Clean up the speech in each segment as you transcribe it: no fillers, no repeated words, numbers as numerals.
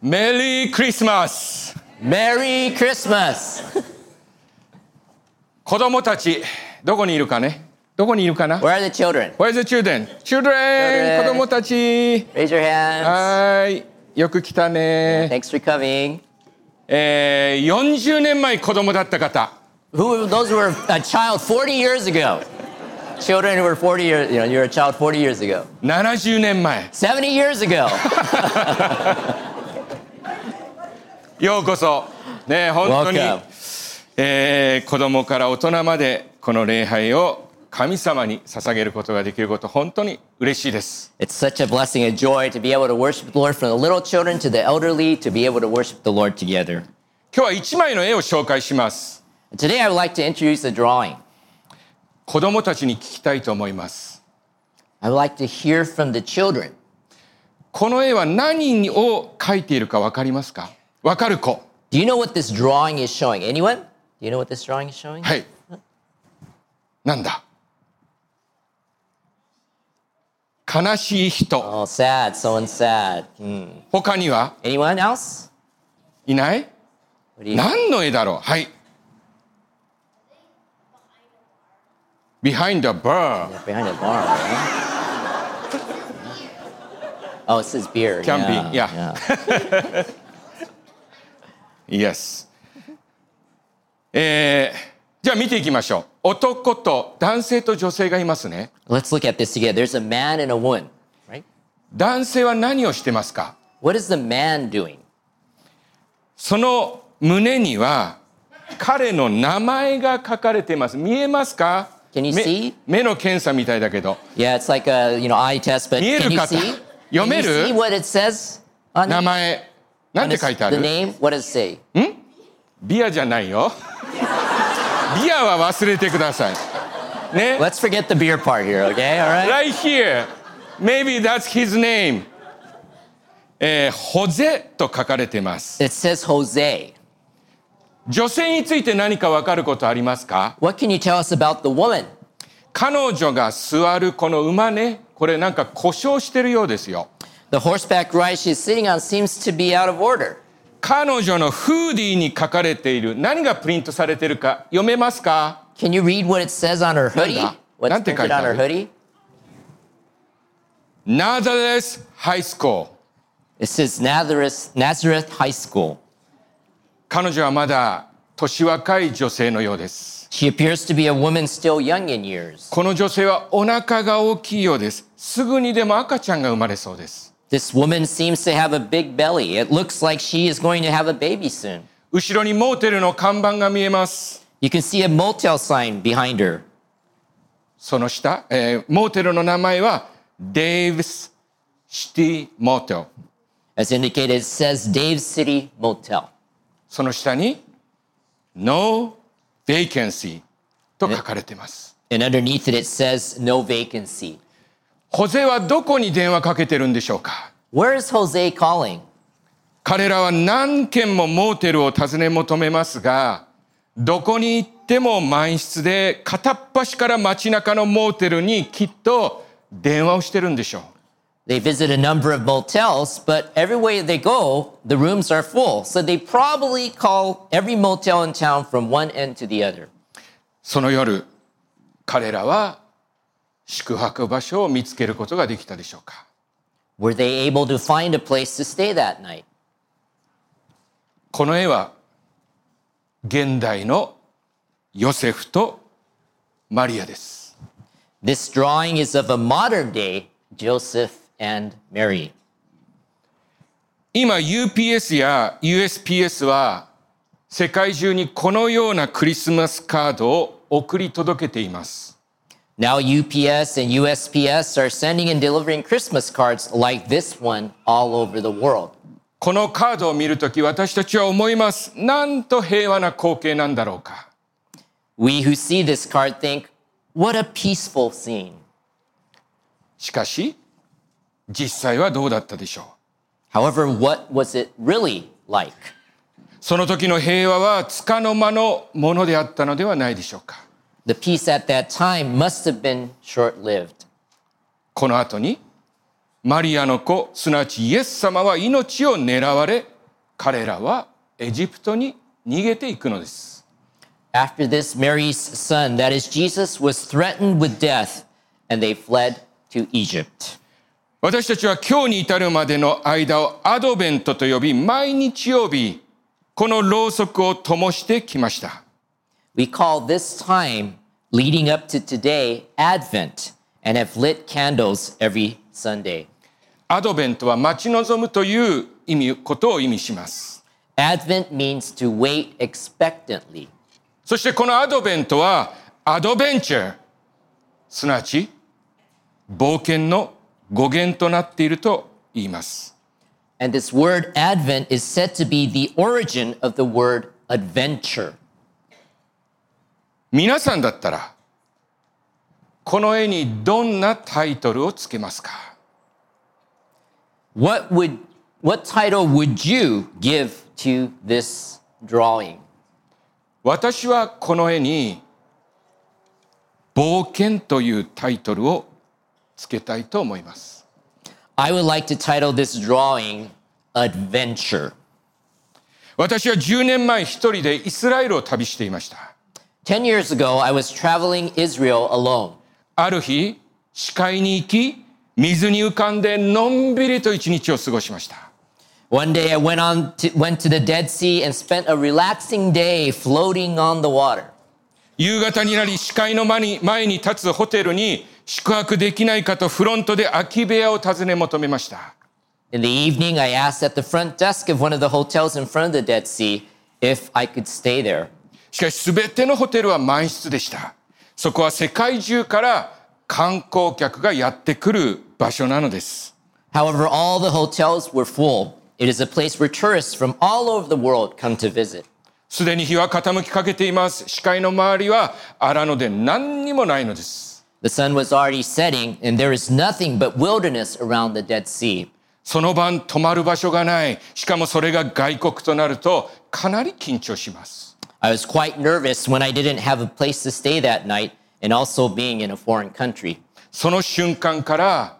メリークリスマス。 Merry Christmas. 子供たちどこにいるかね。どこにいるかな。 Where are the children? Where's the children? Children! 子供たち。 Raise your hands. はい。よく来たね。 Thanks for coming. 40年前子供だった方。 Those who were a child 40 years ago. Children who were 40 years, you're a child 40 years ago. 70年前。 70 years ago. ようこそ。ね、本当に、 Welcome. 子供から大人までこの礼拝を神様に捧げることができること、本当に嬉しいです。 It's such a blessing and joy to be able to worship the Lord, from the little children to the elderly, to be able to worship the Lord together. 今日は1枚の絵を紹介します。 Today I would like to introduce a drawing. 子供たちに聞きたいと思います。 I would like to hear from the children. この絵は何を描いているか分かりますか？分かる子。 Do you know what this drawing is showing? Anyone? Do you know what this drawing is showing? はい。なんだ？悲しい人。 Oh, sad. Someone's sad. 他には Anyone else? いない？ What do you... 何の絵だろう？はい。Behind the bar. Behind a bar, right? Oh, it says beer. Can be, yeah. Yes. じゃあ見ていきましょう。男と男性と女性がいますね。 Let's look at this together. There's a man and a woman, right? 男性は何をしてますか？ What is the man doing? その胸には彼の名前が書かれています。見えますか？ Can you see? 目の検査みたいだけど。 Yeah, it's like a eye test, but 見え can る you 方。 see? 読 Can め you る？ see what it says on 名 it? 前。なんて書いてあ The る？ name? What does it say? ビアじゃないよ。ビアは忘れてください。ね。 Let's forget the beer part here, okay? All right? Right here. Maybe that's his name. ホゼと書かれています。 It says Jose. 女性について何か分かることありますか？ What can you tell us about the woman? 彼女が座るこの馬ね、これなんか故障してるようですよ。 The horseback ride she's sitting on seems to be out of order. 彼女のフーディーに書かれている何がプリントされているか読めますか？ Can you read what it says on her hoodie? なんだ？ What's なんて書い printed てあ on る？ her hoodie? Nazareth High School。 It says Nazareth High School. 彼女はまだ年若い女性のようです。 She appears to be a woman still young in years. この女性はお腹が大きいようです。すぐにでも赤ちゃんが生まれそうです。 This woman seems to have a big belly. It looks like she is going to have a baby soon. 後ろにモーテルの看板が見えます。 You can see a motel sign behind her. その下、モーテルの名前は Dave's City Motel。 As indicated, it says Dave's City Motel. その下に No Vacancy と書かれています。 And underneath it, it says no vacancy. ホゼはどこに電話かけてるんでしょうか？ Where is Jose calling? 彼らは何軒もモーテルを訪ね求めますが、どこに行っても満室で、片っ端から街中のモーテルにきっと電話をしてるんでしょう。 They visit a number of motels, but everywhere they go, the rooms are full. So they probably call every motel in town from one end to the other. その夜、彼らは宿泊場所を見つけることができたでしょうか？ Were they able to find a place to stay that night? この絵は現代のヨセフとマリアです。 This drawing is of a modern day Joseph and Mary. 今 UPS や USPS は世界中にこのようなクリスマスカードを送り届けています。 Now UPS and USPS are sending and delivering Christmas cards like this one all over the world. このカードを見るとき私たちは思います。なんと平和な光景なんだろうか。 We who see this card think, what a peaceful scene. しかし実際はどうだったでしょう。 However, what was it really like? その時の平和は束の間のものであったのではないでしょうか。 The peace at that time must have been short-lived. この後にマリアの子、すなわちイエス様は命を狙われ彼らはエジプトに逃げていくのです。 After this, Mary's son, that is Jesus, was threatened with death, and they fled to Egypt. 私たちは今日に至るまでの間をアドベントと呼び、毎日曜日、このろうそくを灯してきました。 We call this time leading up to today Advent and have lit candles every Sunday. アドベントは待ち望むということを意味します。 Advent means to wait expectantly. そしてこのアドベントはアドベンチャー、すなわち冒険の語源となっていると言います。 And this word Advent is said to be the origin of the word adventure. 皆さんだったらこの絵にどんなタイトルをつけますか？ What title would you give to this drawing? 私はこの絵に冒険というタイトルをつけたいと思います。 I would like to title this drawing Adventure. 私は10年前一人でイスラエルを旅していました。 10 years ago, I was traveling Israel alone. ある日、死海に行き、水に浮かんでのんびりと一日を過ごしました。 One day, I went to the Dead Sea and spent a relaxing day floating on the water. 夕方になり、死海の前に立つホテルに宿泊できないかとフロントで空き部屋を尋ね求めました。 In the evening, I asked at the front desk of one of the hotels in front of the Dead Sea if I could stay there. しかし、すべてのホテルは満室でした。そこは世界中から観光客がやってくる場所なのです。 However, all the hotels were full. It is a place where tourists from all over the world come to visit. すでに日は傾きかけています。視界の周りは荒野で何にもないのです。 The sun was already setting, and there is nothing but wilderness around the Dead Sea. その晩泊まる場所がない。しかもそれが外国となるとかなり緊張します。 I was quite nervous when I didn't have a place to stay that night, and also being in a foreign country. その瞬間から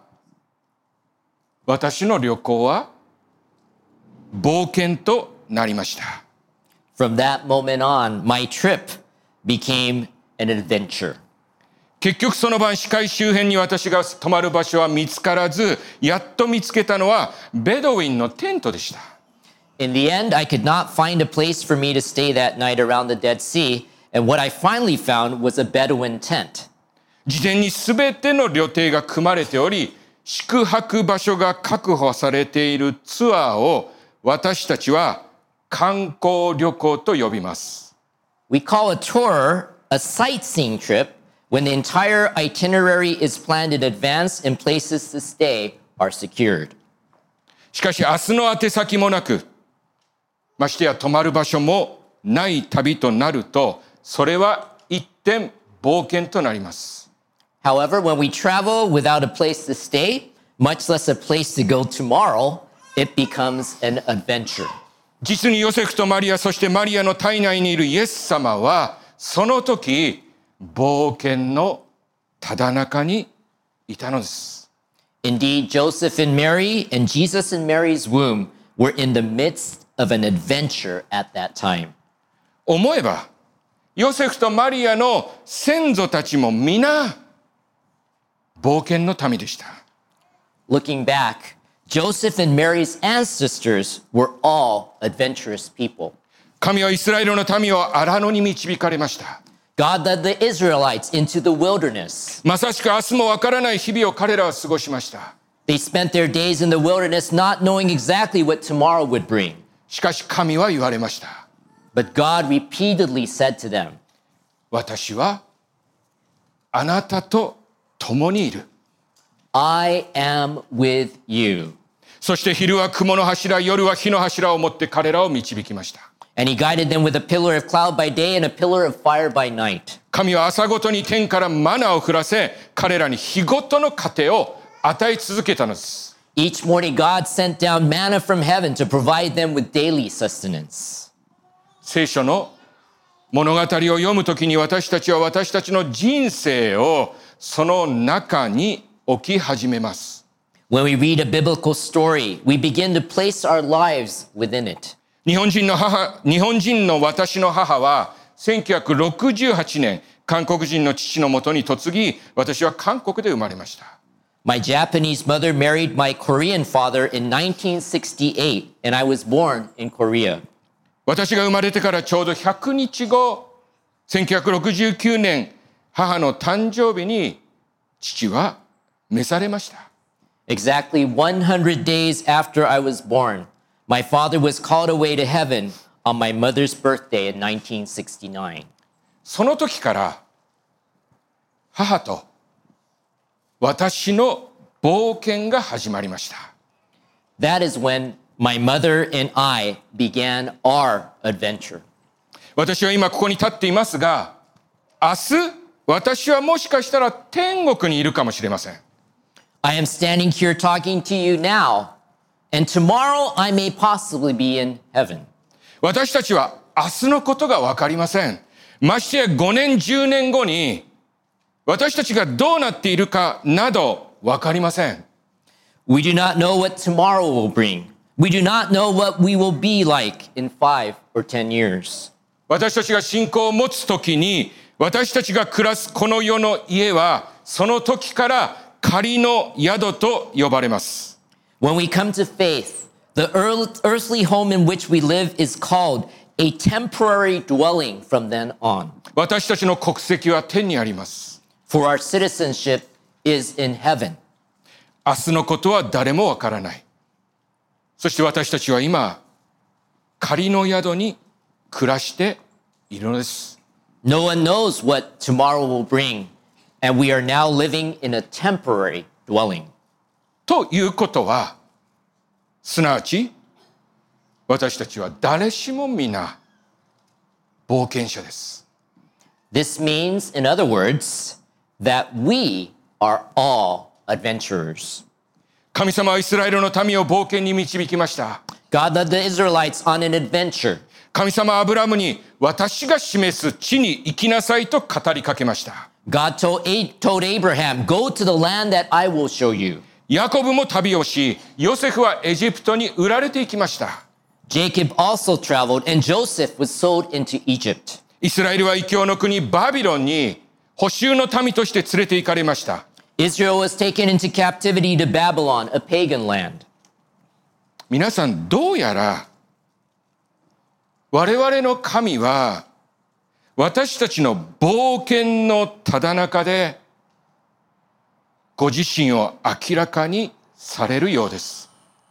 私の旅行は冒険となりました。 From that moment on, my trip became an adventure. 結局その晩死海周辺に私が泊まる場所は見つからず、やっと見つけたのはベドウィンのテントでした。 In the end, I could not find a place for me to stay that night around the Dead Sea, and what I finally found was a Bedouin tent. 事前に全ての旅程が組まれており、宿泊場所が確保されているツアーを私たちは観光旅行と呼びます。 We call a tour a sightseeing trip when the entire itinerary is planned in advance and places to stay are secured. しかし明日の宛先もなく、ましてや泊まる場所もない旅となると、それは一転冒険となります。 However, when we travel without a place to stay, much less a place to go tomorrow, it becomes an adventure. 実にヨセフとマリア、そしてマリアの体内にいるイエス様は、その時、冒険のただ中にいたのです。 Indeed, Joseph and Mary and Jesus in Mary's womb were in the midst of an adventure at that time. 思えば、ヨセフとマリアの先祖たちも皆、冒険の民でした。 Looking back, Joseph and Mary's ancestors were all adventurous people. 神はイスラエルの民を荒野に導かれました。 God led the Israelites into the wilderness. まさしく明日もわからない日々を彼らは過ごしました。 They spent their days in the wilderness not knowing exactly what tomorrow would bring. しかし神は言われました。 But God repeatedly said to them, 私はあなたと共にいる。 I am with you. そして昼は雲の柱、夜は火の柱を持って彼らを導きました。 And he guided them with a pillar of cloud by day and a pillar of fire by night. 神は朝ごとに天からマナを降らせ、彼らに日ごとの糧を与え続けたのです。 Each morning God sent down manna from heaven to provide them with daily sustenance. 聖書の物語を読むときに私たちは私たちの人生をその中に置き始めます。 When we read a biblical story, we begin to place our lives within it. 日本人の私の母は1968年、韓国人の父のもとに嫁ぎ、私は韓国で生まれました。 My Japanese mother married my Korean father in 1968, and I was born in Korea. 私が生まれてからちょうど100日後、1969年、母の誕生日に父は召されました。 Exactly 100 days after I was born, my father was called away to heaven on my mother's birthday in 1969. その時から母と私の冒険が始まりました。 That is when my mother and I began our adventure. 私は今ここに立っていますが、明日私はもしかしたら天国にいるかもしれません。 I am standing here talking to you now, and tomorrow I may possibly be in heaven. 私たちは明日のことが分かりません。ましてや5年、10年後に私たちがどうなっているかなど分かりません。 We do not know what tomorrow will bring. We do not know what we will be like in 5 or 10 years. 私たちが信仰を持つときに、私たちが暮らすこの世の家は、その時から仮の宿と呼ばれます。 When we come to faith, the earthly home in which we live is called a temporary dwelling from then on. 私たちの国籍は天にあります。 For our citizenship is in heaven. 明日のことは誰もわからない。そして私たちは今、仮の宿に暮らしているのです。 No one knows what tomorrow will bring, and we are now living in a temporary dwelling. ということは、すなわち、私たちは誰しも皆、冒険者です。 This means, in other words, that we are all adventurers. 神様はイスラエルの民を冒険に導きました。 God led the Israelites on an adventure. 神様はアブラムに私が示す地に行きなさいと語りかけました。 God told Abraham, go to the land that I will show you. ヤコブも旅をし、ヨセフはエジプトに売られていきました。 Jacob also traveled, and Joseph was sold into Egypt. イスラエルは異教の国バビロンに捕囚の民として連れて行かれました。 Israel was taken into captivity to Babylon, a pagan land. 皆さん、どうやら我々の神は私たちの冒険のただ中でご自身を明らかにされるようです。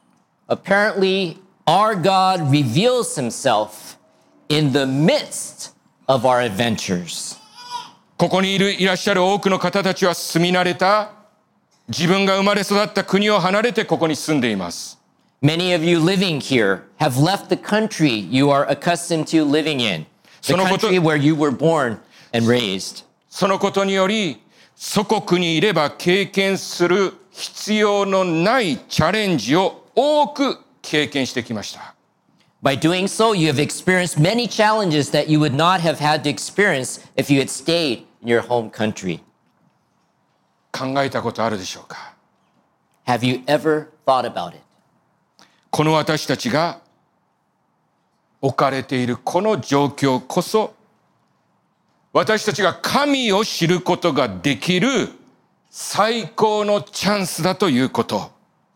Apparently, our God reveals himself in the midst of our adventures. ここにいらっしゃる多くの方たちは住み慣れた自分が生まれ育った国を離れてここに住んでいます。 Many of you living here have left the country you are accustomed to living in, the country where you were born and raised. そのことにより、祖国にいれば経験する必要のないチャレンジを多く経験してきました。 By doing so, you have experienced many challenges that you would not have had to experience if you had stayed in your home country. 考えたことあるでしょうか？ Have you ever thought about it? この私たちが置かれているこの状況こそ、私たちが神を知ることができる最高のチャンスだということ。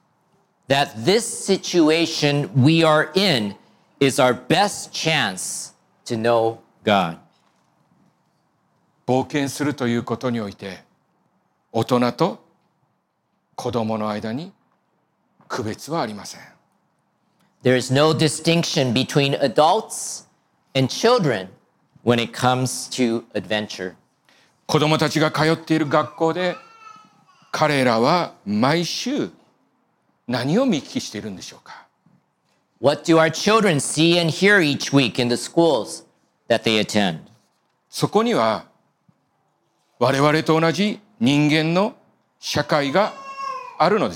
That this situation we are in is our best chance to know God. 冒険するということにおいて、大人と子供の間に区別はありません。 There is no distinction between adults and children when it comes to adventure. 子供たちが通っている学校で、彼らは毎週何を見聞きしているんでしょうか？ What do our children see and hear each week in the schools that they attend? そこには我々と同じ人間の社会があるのです。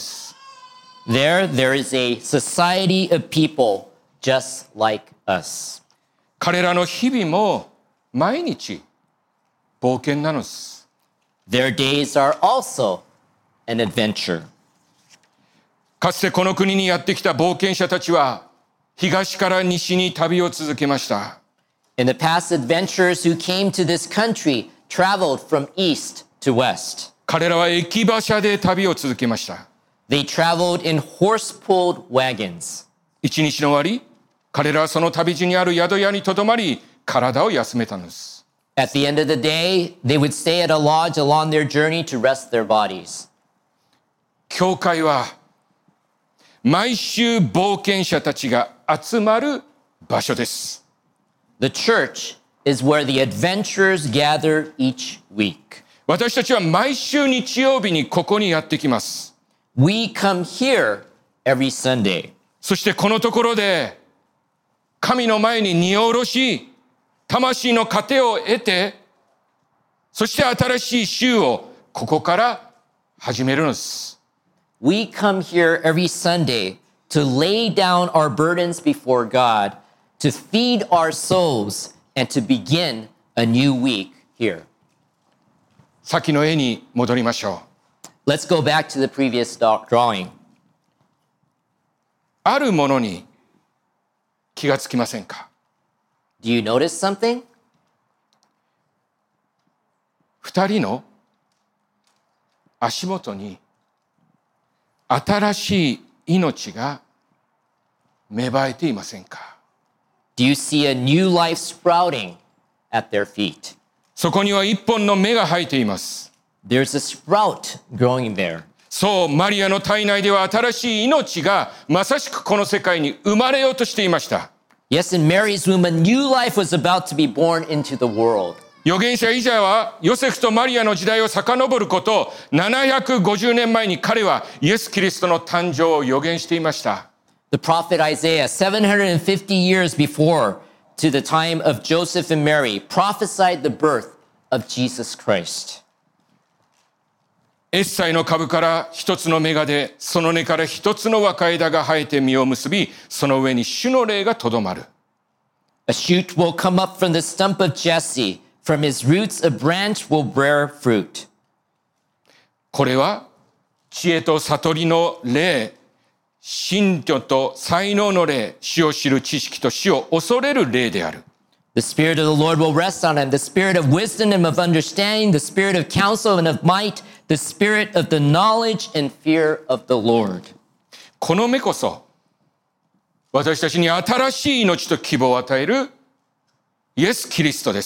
There is a society of people just like us. 彼らの日々も毎日冒険なのです。 Their days are also an adventure. かつてこの国にやってきた冒険者たちは東から西に旅を続けました。 In the past, adventurers who came to this country traveled from east to west. 彼らは駅馬車で旅を続けました。 They traveled in horse-pulled wagons. 一日の終わり、彼らはその旅路にある宿屋にとどまり、体を休めたのです。 At the end of the day, they would stay at a lodge along their journey to rest their bodies. 教会は毎週冒険者たちが集まる場所です。 The church is where the adventurers gather each week. 私たちは毎週日曜日にここにやってきます。 We come here every Sunday. そしてこのところで神の前に荷を下ろし、魂の糧を得て、そして新しい週をここから始めるのです。 We come here every Sunday to lay down our burdens before God, to feed our souls, and to begin a new week here. 先の絵に戻りましょう。 Let's go back to the previous drawing. あるものに気がつきませんか？ Do you notice something? 二人の足元に新しい命が芽生えていませんか？ Do you see a new life sprouting at their feet? そこには一本の芽が生えています。 There's a sprout growing there. そう、マリアの体内では新しい命がまさしくこの世界に生まれようとしていました。 Yes, in Mary's womb, a new life was about to be born into the world. 預言者イザヤはヨセフとマリアの時代を遡ること750年前に彼はイエス・キリストの誕生を予言していました。 The prophet Isaiah, 750 years before to the time of Joseph and Mary, prophesied the birth of Jesus Christ. エッサイの株から一つの芽が出、その根から一つの若枝が生えて実を結び、その上に主の霊がとどまる。 A shoot will come up from the stump of Jesse. From his roots, a branch will bear fruit. これは知恵と悟りの霊、信教と才能の霊、主を知る知識と主を恐れる霊である。 The Spirit of the Lord will rest on him, the Spirit of wisdom and of understanding, the Spirit of counsel and of might, the Spirit of the knowledge and fear of the Lord. この目こそ私たちに新しい命と希望を与えるイエス・キリストです。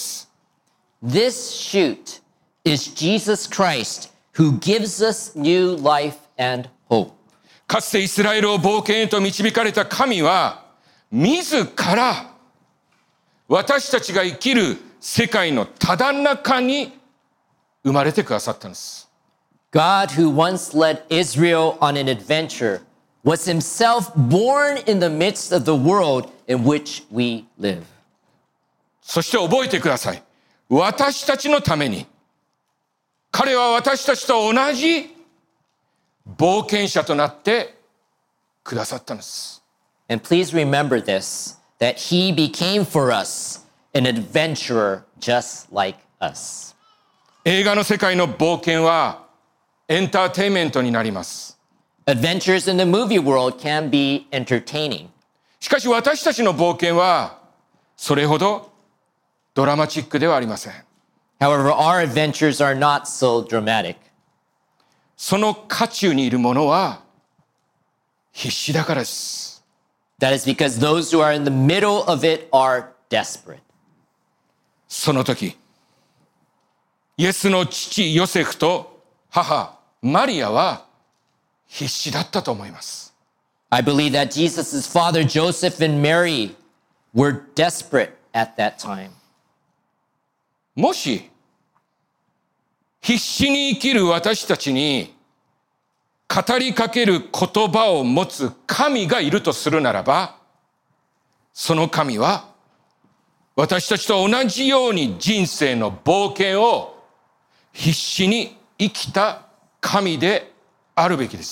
This shoot is Jesus Christ who gives us new life and hope. かつてイスラエルを冒険へと導かれた神は自ら私たちが生きる世界のただ中に生まれてくださったんです。 God, who once led Israel on an adventure, was himself born in the midst of the world in which we live. そして覚えてください。私たちのために、彼は私たちと同じ冒険者となってくださったんです。 And please remember this, that he became for us an adventurer just like us. 映画の世界の冒険はエンターテインメントになります。 Adventures in the movie world can be entertaining. しかし私たちの冒険はそれほどドラマチックではありません。 However, our adventures are not so dramatic. その渦中にいる者は必死だからです。 That is because those who are in the middle of it are desperate. その時、イエスの父ヨセフと母マリアは必死だったと思います。 I believe that Jesus' father Joseph and Mary were desperate at that time. もし必死に生きる私たちに語りかける言葉を持つ神がいるとするならば、その神は私たちと同じように人生の冒険を必死に生きた神であるべきです。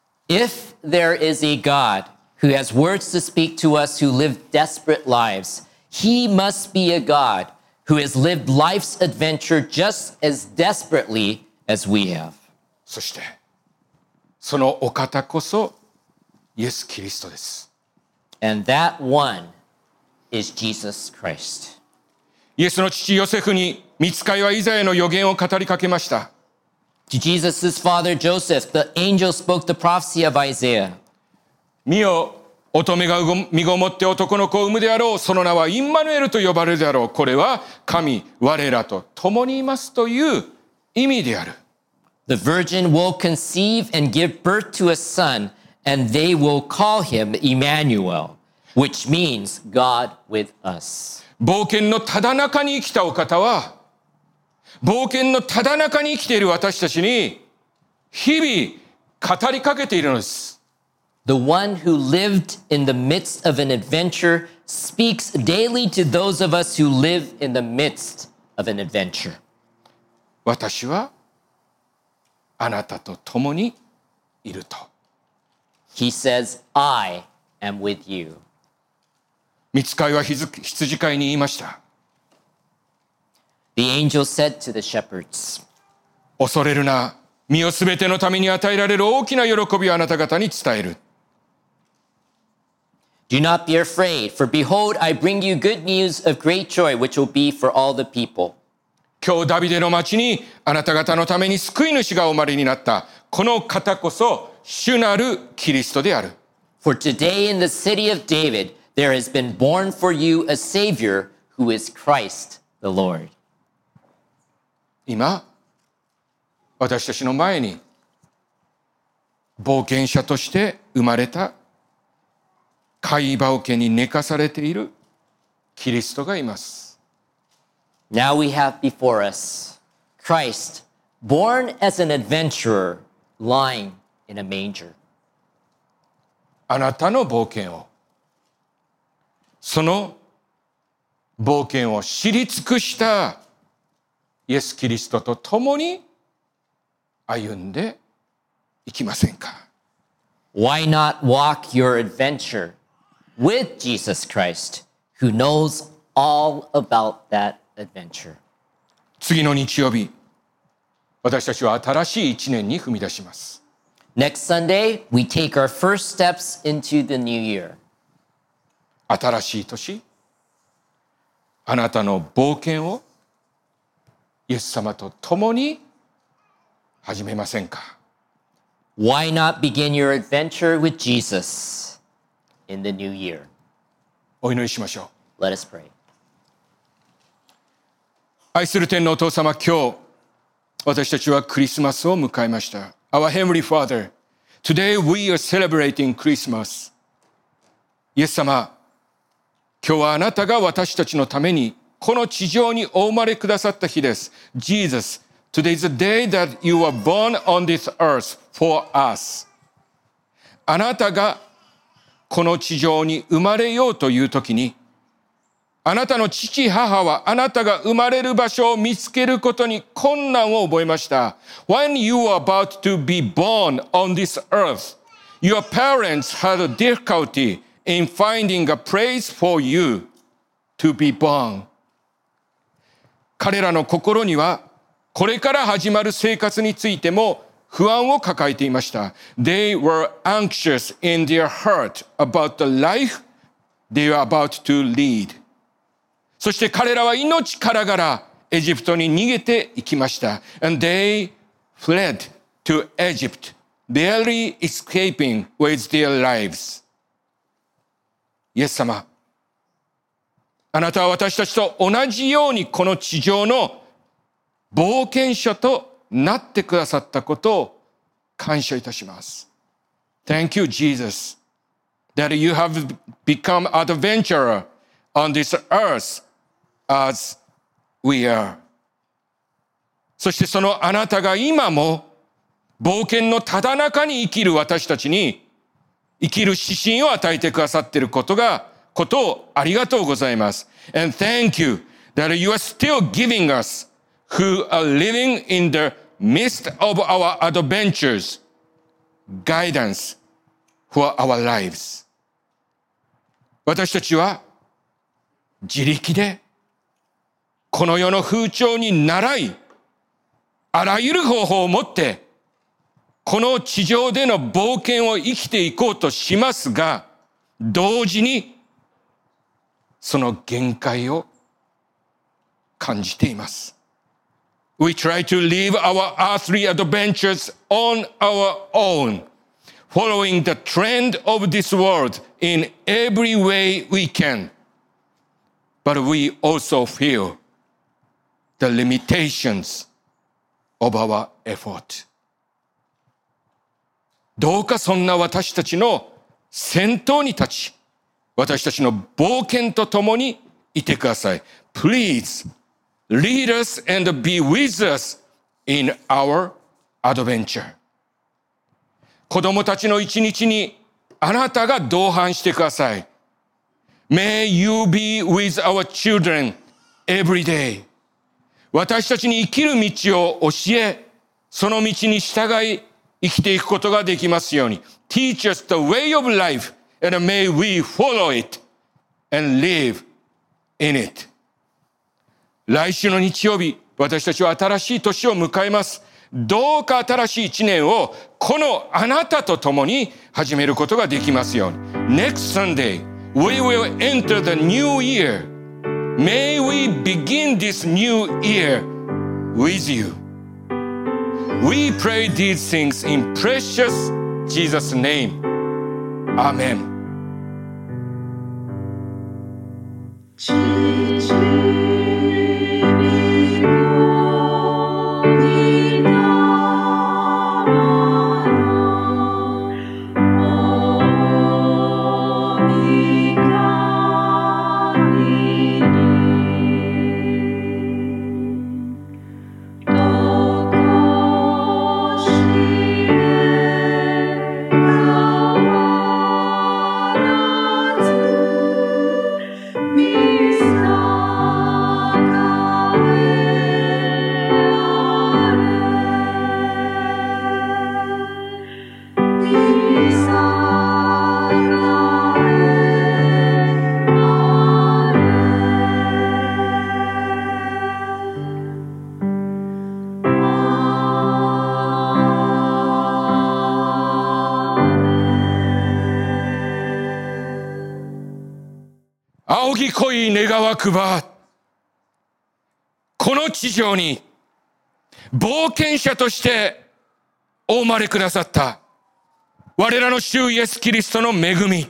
If there is a God who has words to speak to us who live desperate lives, he must be a God who has lived life's adventure just as desperately as we have. そしてそのお方こそイエス・キリストです。 And that one is Jesus Christ. イエスの父ヨセフに御使いはイザヤの預言を語りかけました。 To Jesus' father Joseph, the angel spoke the prophecy of Isaiah. 見よ、乙女が身ごもって男の子を産むであろう。その名はインマヌエルと呼ばれるであろう。これは神、我らと共にいますという意味である。 The virgin will conceive and give birth to a son, and they will call him Emmanuel, which means God with us. 冒険のただ中に生きたお方は、冒険のただ中に生きている私たちに日々語りかけているのです。 The one who lived in the midst of an adventure speaks daily to those of us who live in the midst of an adventure. 私はあなたと共にいると。 He says, I am with you. 御使いは羊飼いに言いました。 The angel said to the shepherds, 恐れるな。身をすべてのために与えられる大きな喜びをあなた方に伝える。 Do not be afraid, for behold, I bring you good news of great joy, which will be for all the people. 今日ダビデの町にあなた方のために救い主がお生まれになった。この方こそ主なるキリストである。 For today in the city of David, there has been born for you a Savior who is Christ the Lord. 今、私たちの前に冒険者として生まれた貝羽桶に寝かされているキリストがいます。 Now we have before us Christ, born as an adventurer, lying in a manger. あなたの冒険を、その冒険を知り尽くしたイエス・キリストと共に歩んでいきませんか？ Why not walk your adventure with Jesus Christ, who knows all about that adventure? 次の日曜日、私たちは新しい一年に踏み出します。 Next Sunday, we take our first steps into the new year. 新しい年、あなたの冒険をイエス様と共に始めませんか？ Why not begin your adventure with Jesus in the new year? お祈りしましょう。 Let us pray. 愛する天のお父様、今日私たちはクリスマスを迎えました。Our Heavenly Father, today we are celebrating Christmas. イエス様、今日はあなたが私たちのためにこの地上にお生まれくださった日です。Jesus, today is the day that you were born on this earth for us. あなたがこの地上に生まれようという時に、あなたの父母はあなたが生まれる場所を見つけることに困難を覚えました。When you were about to be born on this earth, your parents had a difficulty in finding a place for you to be born. 彼らの心にはこれから始まる生活についても不安を抱えていました。They were anxious in their heart about the life they were about to lead. そして彼らは命からがらエジプトに逃げていきました。And they fled to Egypt, barely escaping with their lives. イエス様、あなたは私たちと同じようにこの地上の冒険者となってくださったことを感謝いたします。Thank you, Jesus, that you have become an adventurer on this earth as we are. そしてそのあなたが今も冒険のただ中に生きる私たちに生きる指針を与えてくださっていることをありがとうございます。And thank you that you are still giving us who are living in the midst of our adventures guidance for our lives. 私たちは自力でこの世の風潮に倣い、あらゆる方法を持ってこの地上での冒険を生きていこうとしますが、 同時にその限界を感じています。We try to live our earthly adventures on our own, following the trend of this world in every way we can. But we also feel the limitations of our effort. どうかそんな私たちの先頭に立ち、私たちの冒険とともにいてください。Please lead us and be with us in our adventure. 子供たちの一日にあなたが同伴してください。May you be with our children every day. 私たちに生きる道を教え、その道に従い生きていくことができますように。Teach us the way of life, and may we follow it and live in it. 来週の日曜日、私たちは新しい年を迎えます。どうか新しい一年をこのあなたと共に始めることができますように。Next Sunday, we will enter the new year. May we begin this new year with you. We pray these things in precious Jesus' name. Amen.仰ぎ恋願わくば、この地上に冒険者としてお生まれくださった我らの主イエスキリストの恵み、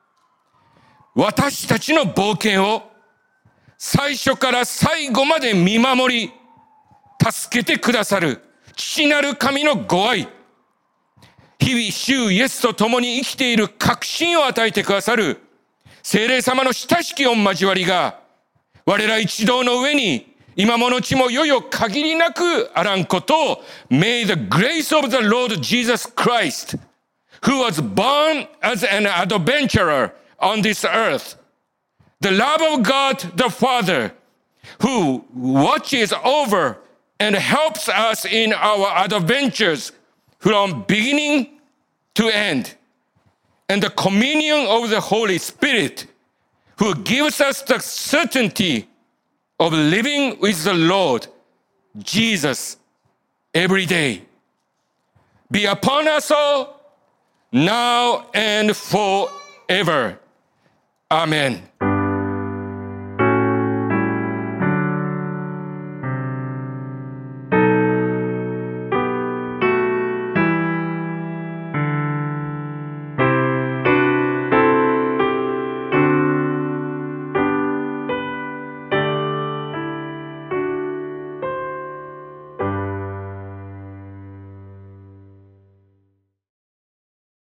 私たちの冒険を最初から最後まで見守り助けてくださる父なる神のご愛、日々主イエスと共に生きている確信を与えてくださる聖霊様の親しき御交わりが我ら一同の上に今ものちもよよ限りなくあらんことを。 May the grace of the Lord Jesus Christ, who was born as an adventurer on this earth, the love of God the Father, who watches over and helps us in our adventures from beginning to end, and the communion of the Holy Spirit, who gives us the certainty of living with the Lord Jesus every day, be upon us all, now and forever. Amen.